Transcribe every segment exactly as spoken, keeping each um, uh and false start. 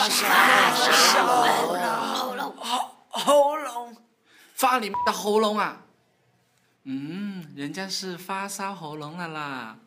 燒喉嚨，喉嚨， 發你的喉嚨啊！嗯，人家是發燒喉嚨了啦。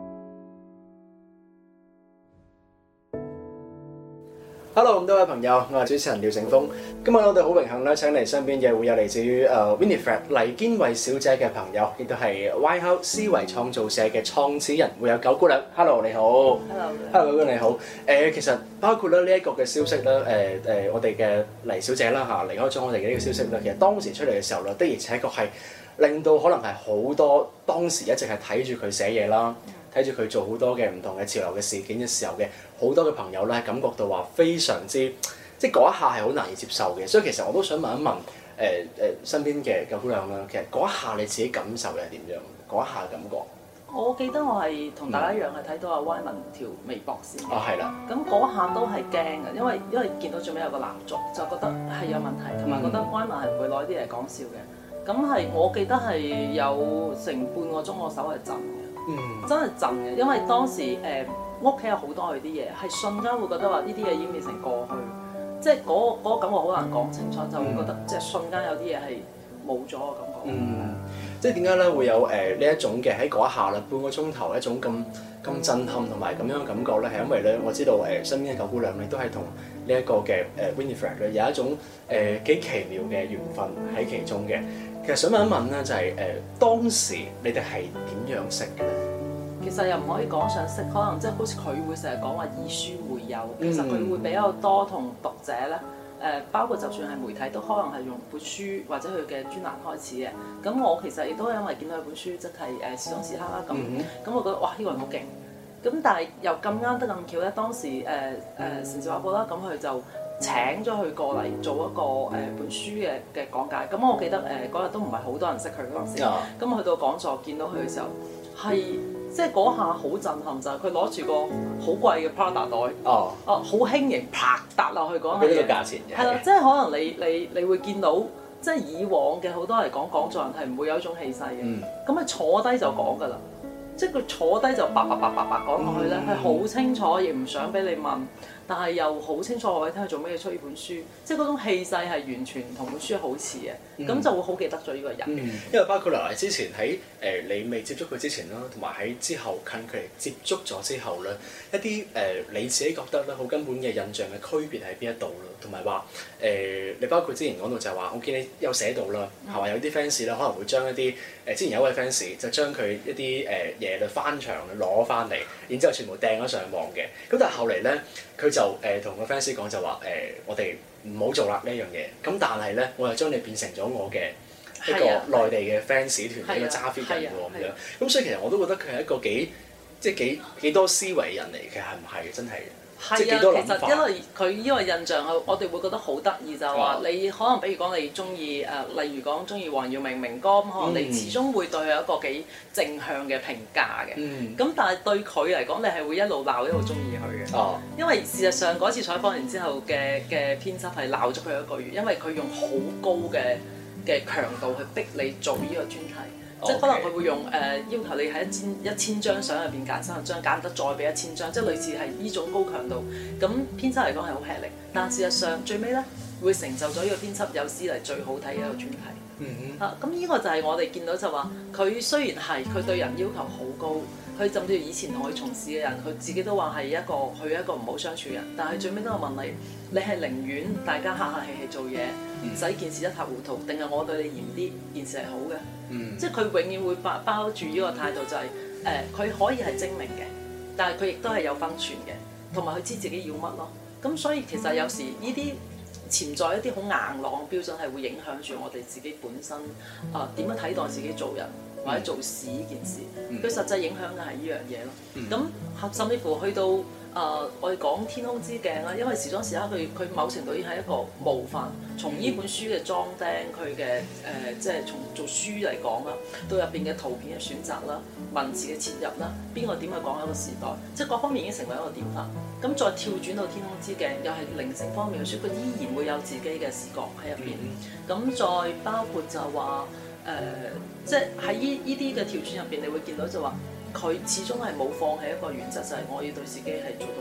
Hello，咁多位朋友，我係主持人廖成峰。今日我哋好榮幸咧，請嚟身邊嘅會有嚟自於誒 Winifred 黎堅惠小姐嘅朋友，亦都係 Whitehouse 思維創造社嘅創始人，會有九姑娘。Hello， 你好。Hello，Hello， 九姑娘你好。誒、呃，其實包括咧呢一個嘅消息咧，誒、呃、誒、呃，我哋嘅黎小姐啦嚇離開咗我哋嘅呢個消息咧，其實當時出嚟嘅時候咧，的而且確係令到可能係好多當時一直係睇住佢寫嘢啦。睇住佢做好多嘅唔同嘅潮流嘅事件嘅時候嘅好多嘅朋友咧，感覺到話非常之即係嗰一下係好難以接受嘅，所以其實我都想問一問誒誒、呃呃、身邊嘅九姑娘啦，其實嗰一下你自己感受嘅係點樣？嗰一下感覺， 我記得我係同大家一樣係睇到阿 Y 文條微博先。 哦，係啦。 咁嗰下都係驚嘅，因為因為見到最尾有個蠟燭，就覺得係有問題，同埋覺得 Y 文係唔會攞啲嚟講笑嘅。咁係我記得係有成半個鐘，我手係震嘅。嗯、真係震嘅，因為當時誒屋企有好多佢啲嘢，係瞬間會覺得話呢啲嘢已經變成過去，即係嗰嗰個感覺好難講清楚，就會覺得、嗯、即係瞬間有啲嘢係冇咗嘅感覺。 嗯，即係點解咧會有誒呢一種嘅喺嗰一下啦，半個鐘頭一種咁咁震撼同埋咁樣嘅感覺咧，係因為咧我知道誒身邊嘅九姑娘你都係同呢一個嘅誒 Winifred 咧有一種誒幾奇妙嘅緣分喺其中嘅。其實想問一問咧，就係、是、誒、呃、當時你哋係點樣識嘅咧？ 其實又唔可以講上識，可能即係好似佢會成日講話以書會友，其實佢會比較多同讀者咧誒、呃，包括就算係媒體都可能係用本書或者佢嘅專欄開始嘅。咁我其實亦都因為見到佢本書，即係誒時裝時刻啦咁，咁、嗯、我覺得哇呢、這個人好勁。咁但係又咁啱得咁巧咧，當時誒誒城市畫報啦，咁佢就請咗佢過嚟做一個誒、呃、本書嘅嘅講解。咁我記得誒嗰日都唔係好多人識佢嗰陣時，咁我去到講座見到佢嘅時候，係即係嗰下好震撼，就係佢攞住個好貴嘅 Prada 袋，哦，哦好輕盈，啪搭落去嗰下嘢， 俾呢個價錢嘅， 係啦，即係可能你你你會見到，即係以往嘅好多嚟講講座人係唔會有一種氣勢嘅，咁佢、嗯、坐低就講㗎啦。即係佢坐低就白白白白白講落去咧，係好、嗯、清楚，亦唔想俾你問，但係又好清楚話俾你聽佢做咩出呢本書，即係嗰種氣勢係完全同本書好似嘅，咁、嗯、就會好記得咗呢個人。 嗯、因為包括嚟之前喺誒、呃、你未接觸佢之前啦，同埋喺之後近距離接觸咗之後咧，一啲誒、呃、你自己覺得咧好根本嘅印象嘅區別喺邊一度咯，同埋話誒你包括之前講到就係話，我見你有寫到啦，係話、嗯、有啲 fans 咧可能會將一啲誒、呃、之前有一位 fans 就將佢一啲誒。呃嘢就翻牆攞翻嚟，然之後全部掟咗上網嘅。咁但係後嚟咧，佢就誒同個 fans 講就話誒、呃，我哋唔好做啦呢一樣嘢。咁但係咧，我又將你變成咗我嘅一個內地嘅 fans 團，一個揸 fit 人喎咁樣。咁所以其實我都覺得佢係一個幾即係幾幾多思維人嚟嘅，係唔係真係？ 係啊，其實因為佢呢個印象，我哋會覺得好得意，就係話你可能比如講你中意誒，例如講中意黃耀明明哥，咁可能你始終會對佢有一個幾正向嘅評價嘅。咁、嗯、但係對佢嚟講，你係會一路鬧一路中意佢嘅。哦、因為事實上嗰次採訪完之後嘅嘅編輯係鬧咗佢一個月，因為佢用好高嘅嘅強度去逼你做呢個專題。即係可能佢會用誒、呃、要求你喺一千一千張相入邊揀三十張，揀得再俾一千張，即係類似係呢種高強度。咁編輯嚟講係好吃力，但事實上最尾咧會成就咗呢個編輯有史嚟最好睇嘅一個專題。嗯嗯。啊，咁呢個就係我哋見到就話，佢雖然係佢對人要求好高，佢甚至以前同佢從事嘅人，佢自己都話係一個佢一個唔好相處嘅人，但係最尾都有問你，你係寧願大家客客氣氣做嘢，唔使件事一塌糊塗，定係我對你嚴啲，件事係好嘅？嗯、即係佢永遠會包包住呢個態度、就係，就係誒佢可以係精明嘅，但係佢亦都係有分寸嘅，同埋佢知自己要乜咯。咁所以其實有時呢啲潛在一啲好硬朗嘅標準係會影響住我哋自己本身啊點、呃、樣睇待自己做人或者做事呢件事，佢、嗯、實際影響嘅係呢樣嘢咯。咁、嗯、甚至乎去到誒、呃、我哋講天空之鏡啦，因為時裝時刻佢佢某程度已經係一個模範，從呢本書嘅裝訂佢嘅誒即係從做書嚟講啦，到入邊嘅圖片嘅選擇啦、文字嘅切入啦，邊個點去講一個時代，即係各方面已經成為一個典範。咁再跳轉到天空之鏡，又係靈性方面嘅書，佢依然會有自己嘅視覺喺入邊。咁再包括就話誒、呃，即係喺呢依啲嘅跳轉入邊，你會見到就話。佢始終係冇放棄一個原則，就係、是、我要對自己係做到好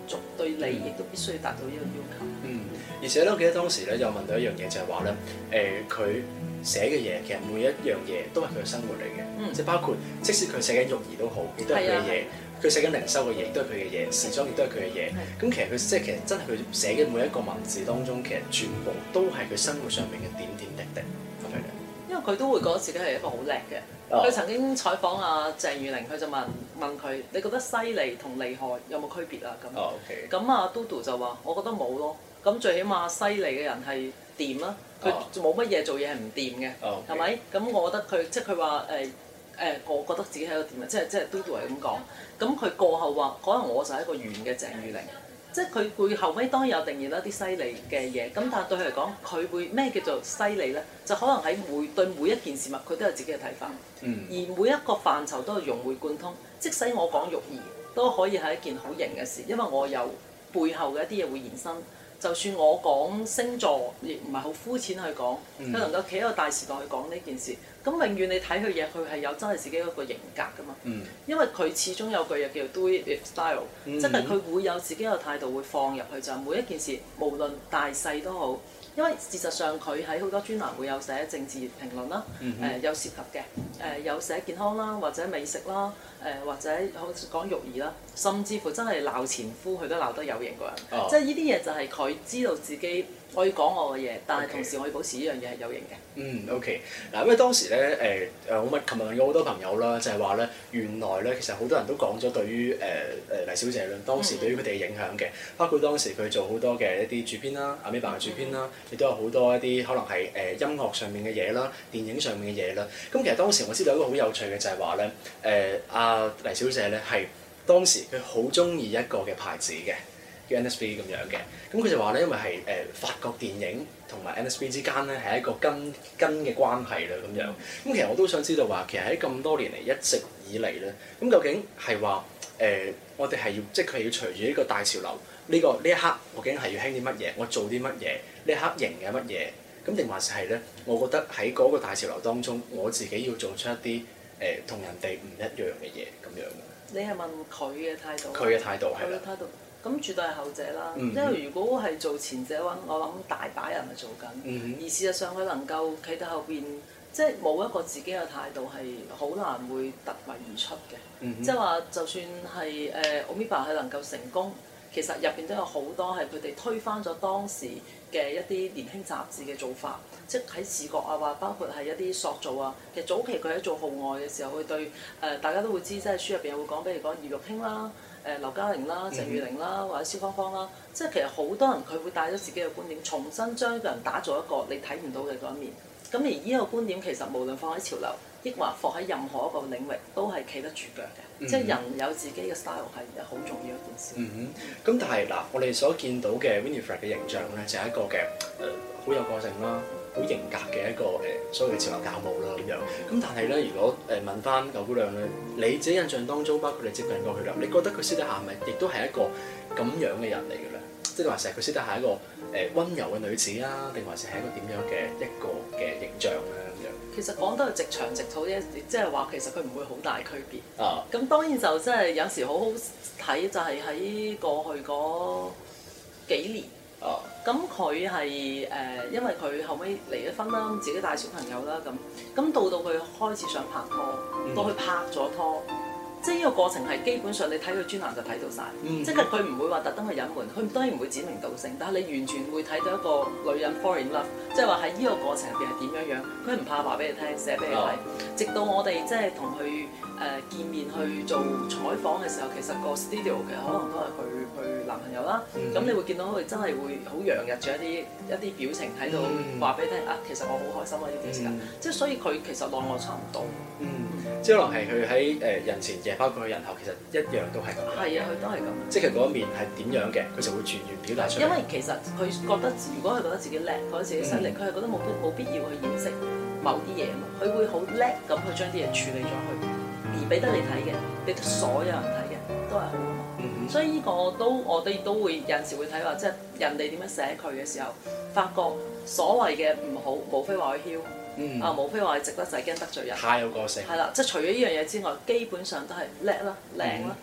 足，對你亦都必須要達到呢個要求。 嗯，而且咧，我記得當時咧有問到一樣嘢，就係話咧，誒佢寫嘅嘢其實每一樣嘢都係佢嘅生活嚟嘅，嗯、即係包括即使佢寫緊育兒都好，亦都係佢嘅嘢。佢寫緊零售嘅嘢，亦都係佢嘅嘢；時裝亦都係佢嘅嘢。咁其實佢即係其實真係佢寫嘅每一個文字當中，其實全部都係佢生活上面嘅點點滴滴咁樣嘅。 因為佢都會覺得自己係一個好叻嘅。佢、哦、曾經採訪阿鄭裕玲，佢就問問佢：你覺得犀利同厲害有冇區別啊？咁，咁、哦 okay. 阿嘟嘟就話：我覺得冇咯。咁最起碼犀利嘅人係掂啦，佢冇乜嘢做嘢係唔掂嘅，係咪、哦？咁、okay. 我覺得佢即係佢話誒。誒、呃，我覺得自己係一個點啊，即係即係嘟嘟係咁講。咁佢過後話，可能我就係一個圓嘅鄭裕玲。即係佢會後尾當然有定義啦，啲犀利嘅嘢。咁但係對佢嚟講，佢會咩叫做犀利咧？就可能喺每對每一件事物，佢都有自己嘅睇法。嗯、而每一個範疇都係融會貫通。即使我講育兒，都可以係一件好型嘅事，因為我有背後嘅一啲嘢會延伸。就算我講星座，亦唔係好膚淺去講，佢、嗯、能夠企喺個大時代去講呢件事，咁永遠你睇佢嘢，佢係有真係自己一個型格㗎嘛。嗯、因為佢始終有句嘢叫做 do it with style，即係佢會有自己嘅態度會放入去，就係每一件事無論大細都好。因為事實上佢喺好多專欄會有寫政治評論啦，誒、嗯哼呃、有涉及嘅，誒、呃、有寫健康啦，或者美食啦，誒、呃、或者好似講育兒啦，甚至乎真係鬧前夫佢都鬧得有型過人，哦、即係呢啲嘢就係佢知道自己我要講我嘅嘢，但係同時我要保持呢樣嘢係有型嘅。 嗯 OK 嗱，因為當時咧誒誒我咪琴日問過好多朋友啦，就係話咧原來咧其實好多人都講咗對於誒誒黎小姐咧當時對於佢哋嘅影響嘅，包括當時佢做好多嘅一啲主編啦，阿 May 爸嘅主編啦，亦都有好多一啲可能係誒音樂上面嘅嘢啦、電影上面嘅嘢啦。咁其實當時我知道一個好有趣嘅就係話咧誒阿黎小姐咧係當時佢好中意一個嘅牌子嘅。叫 N S B 咁樣嘅，咁佢就話咧，因為係誒、呃、法國電影同埋 N S B 之間咧係一個根根嘅關係啦咁樣。咁其實我都想知道話，其實喺咁多年嚟一直以嚟咧，咁究竟係話誒我哋係要即係佢要隨住呢個大潮流，呢、這個呢一刻究竟係要興啲乜嘢，我做啲乜嘢，呢一刻型嘅乜嘢，咁定還是係咧？我覺得喺嗰個大潮流當中，我自己要做出一啲誒同人哋唔一樣嘅嘢咁樣。 你係問佢嘅態度？ 佢嘅態度係啦。 咁絕對係後者啦， 嗯、 因為如果係做前者嘅話，我諗大把人係做緊，嗯、而事實上佢能夠企喺後邊，即係冇一個自己嘅態度係好難會突圍而出嘅。嗯、即係話就算係誒 Omiba 佢能夠成功，其實入邊都有好多係佢哋推翻咗當時嘅一啲年輕雜誌嘅做法，即係喺視覺啊，或包括係一啲塑造啊。其實早期佢喺做號外嘅時候，佢對誒、呃、大家都會知，即係書入邊會講，比如講葉玉卿啦。誒劉嘉玲啦、鄭裕玲啦，或者蕭芳芳啦，即係其實好多人佢會帶咗自己嘅觀點，重新將一個人打造一個你睇唔到嘅嗰一面。咁而呢個觀點其實無論放喺潮流，抑或放喺任何一個領域，都係企得住腳嘅。嗯、即係人有自己嘅 style 係好重要一件事。嗯哼。咁但係嗱，我哋所見到嘅 Winifred 嘅形象咧，就係、是、一個嘅誒好有個性啦。好型格嘅一個誒，所謂嘅潮流教母啦咁樣。咁但係咧，如果誒問翻九姑娘咧，你自己印象當中，包括你接近過佢啦，你覺得佢私底下係咪亦都係一個咁樣嘅人嚟嘅咧？即係話成日佢私底下係一個誒溫柔嘅女子啊，定還是係一個點樣嘅一個嘅形象咧咁樣？其實講得係直腸直肚啫，即係話其實佢唔會好大區別。啊！咁當然就真係有時好好睇，就係喺過去嗰幾年。哦，咁佢係誒，因為佢後尾離咗婚啦，自己帶小朋友啦，咁咁到到佢開始想拍拖，嗯、到佢拍咗拖，即係呢個過程係基本上你睇佢專欄就睇到晒，嗯、即係佢唔會話特登去隱瞞，佢當然唔會指名道姓，但係你完全會睇到一個女人 fall in love，即係話喺呢個過程入邊係點樣樣，佢唔怕話俾你聽，寫俾你睇，哦、直到我哋即係同佢誒見面去做採訪嘅時候，其實個 studio 其實可能都係佢佢男朋友啦，咁、嗯、你會見到佢真係會好洋溢住一啲一啲表情喺度話俾你聽啊，其實我好開心啊呢段時間，嗯、即係所以佢其實內外差唔多。嗯，即係可能係佢喺誒人前嘅，包括佢人後，其實一樣都係咁。係啊，佢都係咁。即係佢嗰一面係點樣嘅，佢就會全然表達出嚟。因為其實佢覺得，如果佢覺得自己叻，覺得自己犀利，佢係、嗯、覺得冇必冇必要去掩飾某啲嘢嘛，佢會好叻咁去將啲嘢處理咗去，而俾得你睇嘅，俾得所有人睇嘅，都係好啊嘛。嗯、所以呢個都我哋都會有陣時會睇話，即係人哋點樣寫佢嘅時候，發覺所謂嘅唔好，無非話佢囂。嗯、啊，無非話係值得就係驚得罪人，太有個性。係啦，即係除咗呢樣嘢之外，基本上都係叻啦、靚啦、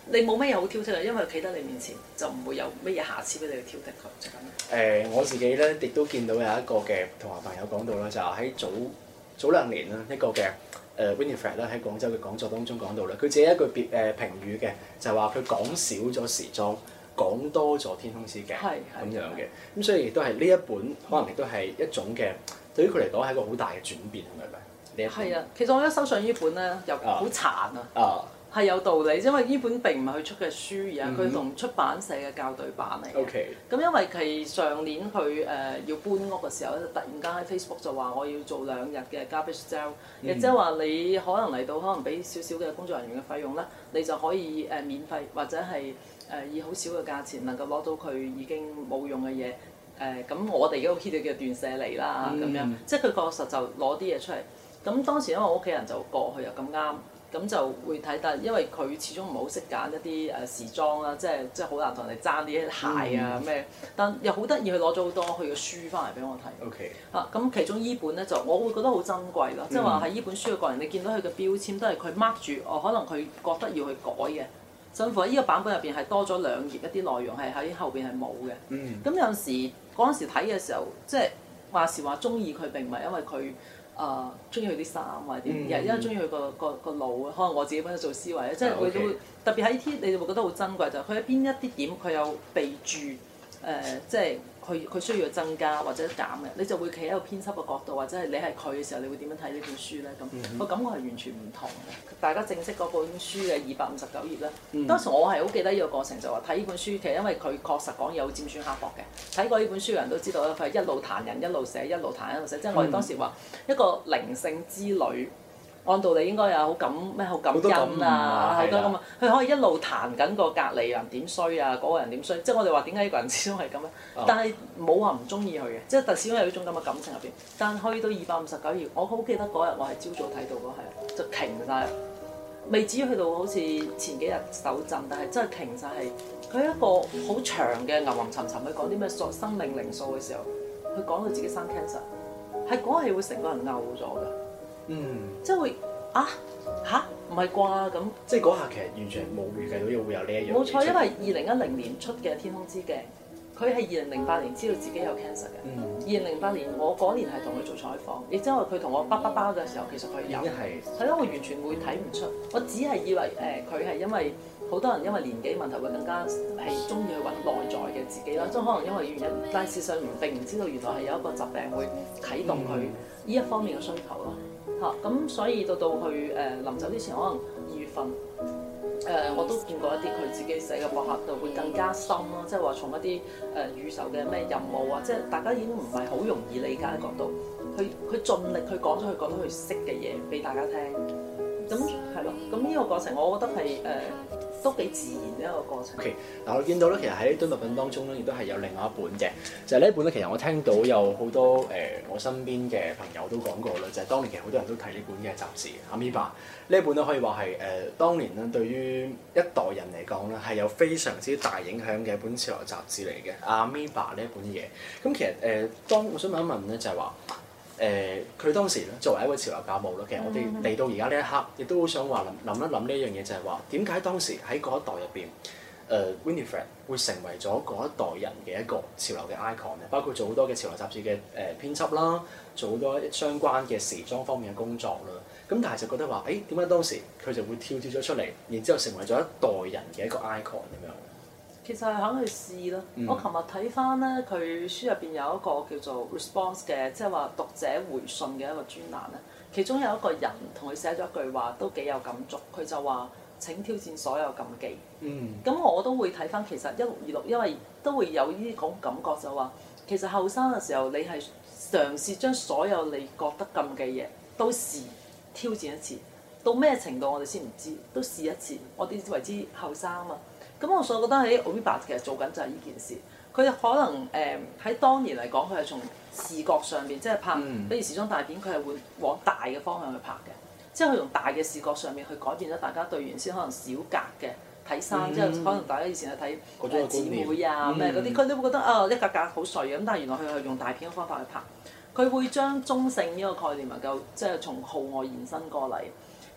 你冇乜嘢好挑剔嘅，因為佢企得你面前就唔會有乜嘢瑕疵俾你去挑剔佢，就咁樣。 誒、呃、我自己咧亦都見到有一個嘅同學朋友講到啦，就係、是、喺早早兩年啦，一個嘅誒 Winifred 咧喺廣州嘅講座當中講到啦，佢自己一句別誒、呃、評語嘅，就係話佢講少咗時裝，講多咗天空之鏡咁樣嘅，咁所以亦都係呢一本可能亦都係一種嘅，對於佢嚟講係一個好大嘅轉變，係咪？呢一本係啊，其實我覺得手上呢本咧又好殘啊。啊係有道理，因為呢本並唔係佢出嘅書，而係佢同出版社嘅校對版嚟嘅。咁、okay. 因為佢上年佢誒、呃、要搬屋嘅時候咧，突然間喺 Facebook 就話我要做兩日嘅 garbage sale，亦即係話你可能嚟到可能俾少少嘅工作人員嘅費用咧，你就可以誒、呃、免費或者係誒、呃、以好少嘅價錢能夠攞到佢已經冇用嘅嘢。誒、呃、咁我哋而家好 hit 嘅斷捨離啦，咁、嗯、樣即係佢確實就攞啲嘢出嚟。咁當時因為我屋企人就過去又咁啱。咁就會睇，但係因為佢始終唔係好識揀一啲誒時裝啦，即係即係好難同人哋爭啲鞋啊咩、嗯，但又好得意，佢攞咗好多佢嘅書翻嚟俾我睇。OK。啊，咁其中依本咧就我會覺得好珍貴咯，即係話喺依本書嘅過程，你見到佢嘅標籤都係佢 mark 住，哦可能佢覺得要去改嘅，甚至乎喺依個版本入邊係多咗兩頁一啲內容係喺後邊係冇嘅。嗯。咁有陣時嗰陣時睇嘅時候，即係話時話中意佢並唔係因為佢。誒中意佢啲衫或者點，而係因為中意佢個個個腦啊。可能我自己本身做思維咧，即係會會特別喺啲你哋會覺得好珍貴，就係佢喺邊一啲點佢有備註誒，即係佢佢需要增加或者減嘅，你就會企喺個編輯嘅角度，或者係你係佢嘅時候，你會點樣睇呢本書咧？咁個感覺係完全唔同嘅。大家正式嗰本書嘅二百五十九頁咧，嗯、當時我係好記得呢個過程，就話睇呢本書，其實因為佢確實講有尖酸刻薄嘅，睇過呢本書嘅人都知道咧，佢係一路彈人一路寫，一路彈一路寫，即係我哋當時話一個靈性之旅。按道理應該有好感咩好感恩啊，好多咁啊，佢可以一路彈緊個隔離人點衰啊，嗰、嗰個人點衰，即係我哋話點解呢個人始終係咁咧？哦、但係冇話唔中意佢嘅，即係特始終有呢種咁嘅感情入邊。但係去到二百五十九頁，我好記得嗰日我係朝早睇到嗰係就停晒，未至於去到好似前幾日手震，但係真係停晒係佢一個好長嘅吟吟沉沉去講啲咩生生命靈數嘅時候，佢講到自己生 cancer， 係嗰係會成個人嘔咗㗎。嗯，即係會啊吓？唔係啩咁？ 即係嗰下其實完全冇預計到會有呢一樣。 冇錯，因為二零一零年出嘅《天空之鏡》，佢係二零零八年知道自己有 cancer 嘅。二零零八年我嗰年係同佢做採訪，亦即係話佢同我包包包嘅時候，其實佢有。已經係。係咯，我完全會睇唔出，我只係以為誒佢係因為好多人因為年紀問題會更加係中意去揾內在嘅自己啦，即係可能因為原因，但係事實上並唔知道原來係有一個疾病會啟動佢呢一方面嘅需求咯。嚇咁、嗯、所以到到去誒、呃、臨走之前，可能二月份誒、呃、我都見過一啲佢自己寫嘅博客度會更加深咯，即係話從一啲誒、呃、宇宙嘅咩任務啊，即係大家已經唔係好容易理解嘅角度，佢佢盡力去講咗佢覺得佢識嘅嘢俾大家聽，咁係咯，咁呢個過程我覺得係誒。呃都幾自然嘅一個過程。 OK，嗱我見到咧，其實喺堆物品當中咧，亦都係有另外一本嘅，就係、是、呢一本咧。其實我聽到有好多誒、呃，我身邊嘅朋友都講過啦，就係、是、當年其實好多人都睇呢本嘅雜誌《Amoeba》呢一本咧，可以話係誒當年咧對於一代人嚟講咧係有非常之大影響嘅一本潮流雜誌嚟嘅《Amoeba》呢一本嘢。咁其實誒、呃，當我想問一問咧，就係話。誒佢、呃、當時咧作為一個潮流教母啦，其實我哋嚟到而家呢一刻，亦都好想話諗諗一諗呢一樣嘢，就係話點解當時喺嗰一代入邊，誒、呃、Winifred 會成為咗嗰一代人嘅一個潮流嘅 icon 咧，包括做好多嘅潮流雜誌嘅誒、呃、編輯啦，做好多相關嘅時裝方面嘅工作啦。咁但係就覺得話，誒點解當時佢就會跳脫咗出嚟，然之後成為咗一代人嘅一個 icon 咁樣？ 其實係肯去試咯。嗯、我琴日睇翻咧，佢書入邊有一個叫做 response 嘅，即係話讀者回信嘅一個專欄咧。其中有一個人同佢寫咗一句話，都幾有感觸。佢就話：請挑戰所有禁忌。嗯。咁我都會睇翻，其實一六二六，因為都會有呢種感覺，就話其實後生嘅時候，你係嘗試將所有你覺得禁忌嘢都試挑戰一次。到咩程度我哋先唔知，都試一次。我哋為之後生啊嘛。咁我所以覺得喺 Amoeba 其實做緊就係呢件事，佢可能誒喺、呃、當年嚟講，佢係從視覺上邊即係拍，嗯、比如時裝大片，佢係會往大嘅方向去拍嘅，即係佢用大嘅視覺上面去改變咗大家對原先可能小格嘅睇衫，嗯、即係可能大家以前係睇姊妹啊咩嗰啲，佢、嗯、都會覺得啊、哦、一格格好碎嘅，咁但係原來佢係用大片嘅方法去拍，佢會將中性呢個概念能夠即係從號外延伸過嚟。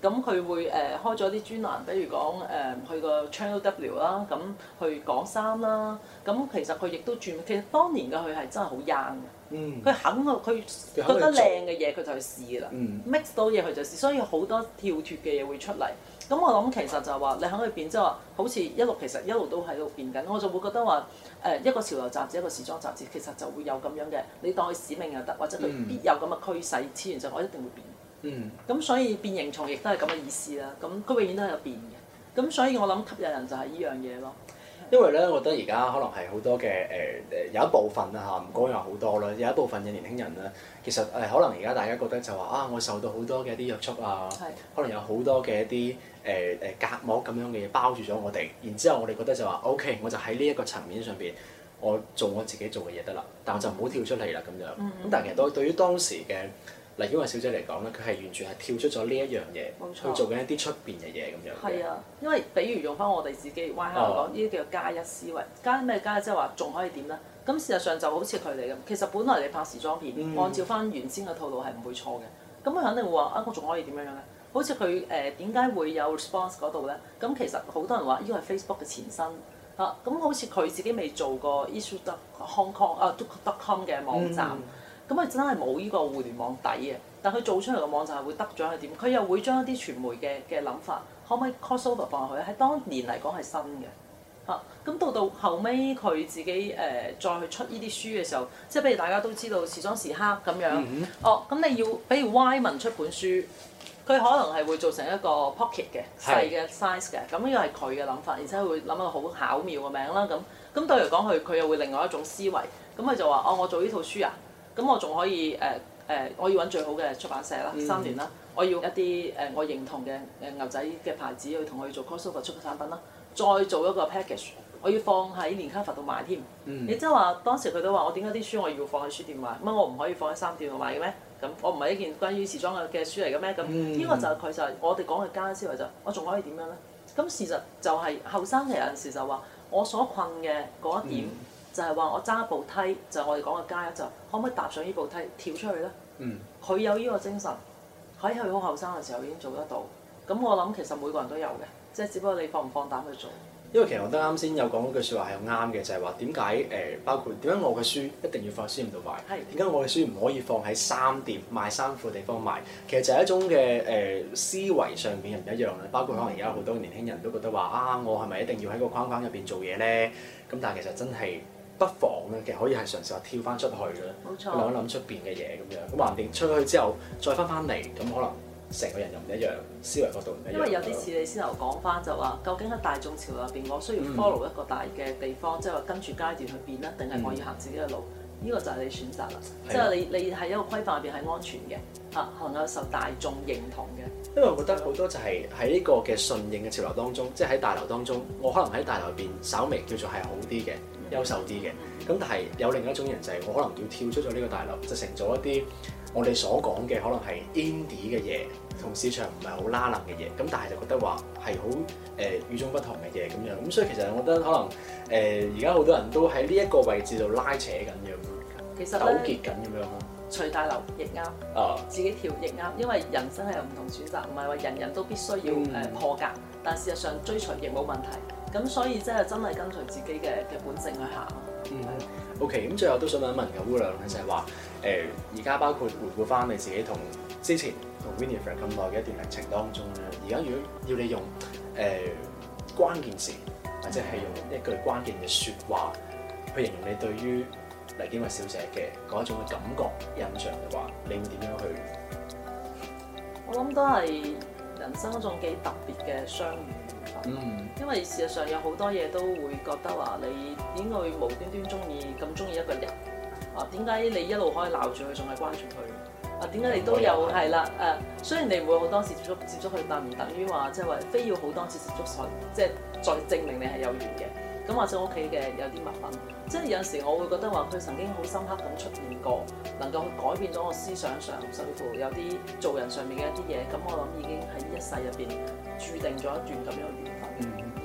咁佢會誒、呃、開咗啲專欄，比如講誒、呃、去個 Channel W 啦，咁去講衫啦。咁其實佢亦都轉，其實當年嘅佢係真係好 young 嘅。 嗯。 佢肯去，佢覺得靚嘅嘢佢就去試㗎啦。 嗯。 mix 到嘢佢就試，所以好多跳脱嘅嘢會出嚟。咁我諗其實就係話你肯去變，即係話好似一路其實一路都喺度變緊。我就會覺得話誒、呃、一個潮流雜誌，一個時裝雜誌，其實就會有咁樣嘅，你當佢使命又得，或者佢必有咁嘅趨勢，自然就我一定會變。 嗯， 咁所以變形蟲亦都係咁嘅意思啦。咁佢永遠都係有變嘅。咁所以我諗吸引人就係呢樣嘢咯。 因為咧，我覺得而家可能係好多嘅誒誒有一部分啦嚇，唔講有好多啦，有一部分嘅年輕人咧，其實誒、呃、可能而家大家覺得就話啊，我受到好多嘅一啲約束啊， 係可能有好多嘅一啲誒誒隔膜咁樣嘅嘢包住咗我哋，然之後我哋覺得就話 OK，我就喺呢一個層面上邊，我做我自己做嘅嘢得啦，但我就唔好跳出嚟啦咁樣。咁、嗯嗯、但係其實對對於當時嘅黎堅惠小姐嚟講咧，佢係完全係跳出咗呢一樣嘢，去做緊一啲出邊嘅嘢咁樣。 係啊，因為比如用翻我哋自己 Y 下嚟講，呢啲叫做加一思維。加咩加？即係話仲可以點咧？咁事實上就好似佢哋咁，其實本來你拍時裝片，嗯、按照翻原先嘅套路係唔會錯嘅。咁佢肯定會話啊，我仲可以點樣樣咧？好似佢誒點解會有 response 嗰度咧？咁其實好多人話呢個係 Facebook 嘅前身啊。咁好似佢自己未做過 issue dot Hong Kong 啊 dot com 嘅網站。嗯咁佢真係冇呢個互聯網底嘅，但佢做出嚟嘅網站係會得咗係點？佢又會將一啲傳媒嘅嘅諗法，可唔可以 crossover 放落去？喺當年嚟講係新嘅，嚇、啊。咁到到後尾佢自己誒、呃、再去出呢啲書嘅時候，即係譬如大家都知道時裝時刻咁樣，嗯、哼哦，咁你要比如 Y 文出本書，佢可能係會做成一個 pocket 嘅細嘅 size 嘅，咁呢個係佢嘅諗法，而且會諗一個好巧妙嘅名啦。咁咁對嚟講，佢佢又會另外一種思維，咁佢就話：哦，我做呢套書啊！咁我仲可以誒誒、呃呃，我要揾最好嘅出版社啦，嗯、三聯啦，我要一啲誒、呃、我認同嘅誒牛仔嘅牌子去同佢做 crossover 出嘅產品啦，再做一個 package，我要放喺連卡佛度賣添。嗯、你即係話當時佢都話我點解啲書我要放喺書店賣？乜我唔可以放喺衫店度賣嘅咩？咁我唔係一件關於時裝嘅嘅書嚟嘅咩？咁呢、嗯、個就係佢就係我哋講嘅加思維就，我仲可以點樣咧？咁事實就係後生嘅有陣時就話我所困嘅嗰一點。嗯就係話我揸部梯，就係、我哋講嘅加一就，可唔可以踏上呢部梯跳出去咧？佢、嗯、有呢個精神，喺佢好後生嘅時候已經做得到。咁我諗其實每個人都有嘅，即係只不過你放唔放膽去做。 因為其實我覺得啱先有講嗰句説話係啱嘅，就係話點解誒包括點解我嘅書一定要放喺書店度賣？點解是我嘅書唔可以放喺衫店賣衫褲嘅地方賣？其實就係一種嘅誒、呃、思維上面唔一樣啦。包括可能而家好多年輕人都覺得話啊，我係咪一定要喺個框框入邊做嘢咧？咁但係其實真係。不妨咧，其實可以係嘗試下跳翻出去嘅，諗一諗出邊嘅嘢咁樣。咁橫掂出去之後，再翻翻嚟，咁可能成個人又唔一樣，思維角度唔一樣。 因為有啲似你先頭講翻就話，究竟喺大眾潮流入邊，我需要 follow 一個大嘅地方，嗯、即係話跟住階段去變啦，定係我要行自己嘅路？呢、嗯、個就係你選擇啦。嗯、即係你你喺一個規範入邊係安全嘅，嚇能夠受大眾認同嘅。 因為我覺得好多就係喺呢個嘅順應嘅潮流當中，即係喺大流當中，我可能喺大流入邊稍微叫做係好啲嘅。優秀啲嘅，咁但係有另一種人就係我可能要跳出咗呢個大流，就成咗一啲我哋所講嘅可能係 indie 嘅嘢，同市場唔係好拉冷嘅嘢，咁但係就覺得話係好誒與眾不同嘅嘢咁樣，咁所以其實我覺得可能誒而家好多人都喺呢一個位置度拉扯緊咁樣， 其實糾結緊咁樣咯。 隨大流亦啱，啊、自己跳亦啱，因為人生係有唔同選擇，唔係話人人都必須要誒、嗯、破格，但事實上追隨亦冇問題。咁所以真係真係跟隨自己嘅嘅本性去行。 嗯，OK，咁最後都想問一問嘅姑娘咧，就係話誒而家包括回顧翻你自己同之前同 Winifred 咁耐嘅一段歷程當中咧，而家如果要你用誒、呃、關鍵詞或者係用一句關鍵嘅説話去形容你對於黎堅惠小姐嘅嗰一種嘅感覺印象嘅話，你會點樣去？ 我諗都係人生一種幾特別嘅相遇。嗯，因為事實上有好多嘢都會覺得話你點會無端端中意咁中意一個人啊？點解你一路可以鬧住佢，仲係關注佢啊？點解你都有係啦？誒、啊，雖然你唔會好多次接觸接觸佢，但唔等於話即係話非要好多次接觸佢，即係再證明你係有緣嘅。咁或者我屋企嘅有啲物品，即係有陣時我會覺得話佢曾經好深刻咁出現過，能夠去改變咗我思想上，甚至乎有啲做人上面嘅一啲嘢。咁我諗已經喺呢一世入邊註定咗一段咁樣嘅緣分。嗯，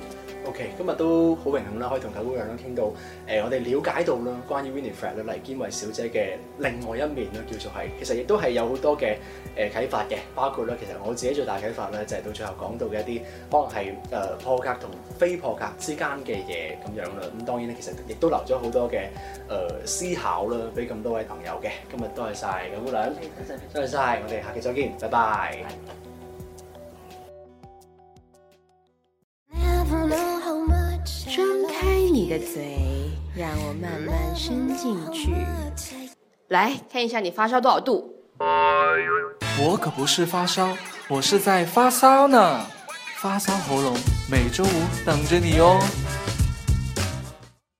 OK， 今日都好榮幸啦，可以同九姑娘啦傾到誒、呃，我哋了解到啦關於 Winifred 咧黎堅惠小姐嘅另外一面啦，叫做係其實亦都係有好多嘅誒啟發嘅，包括咧其實我自己最大啟發咧就係到最後講到嘅一啲可能係誒、呃、破格同非破格之間嘅嘢咁樣啦。咁當然咧其實亦都留咗好多嘅誒、呃、思考啦，俾咁多位朋友嘅。今日多謝晒九姑娘，多謝晒，我哋下期再見，拜拜。 張開你的嘴，讓我慢慢伸進去。來看一下你發燒多少度？ 我可不是發燒，我是在發燒呢。發燒喉嚨每週五等着你哦。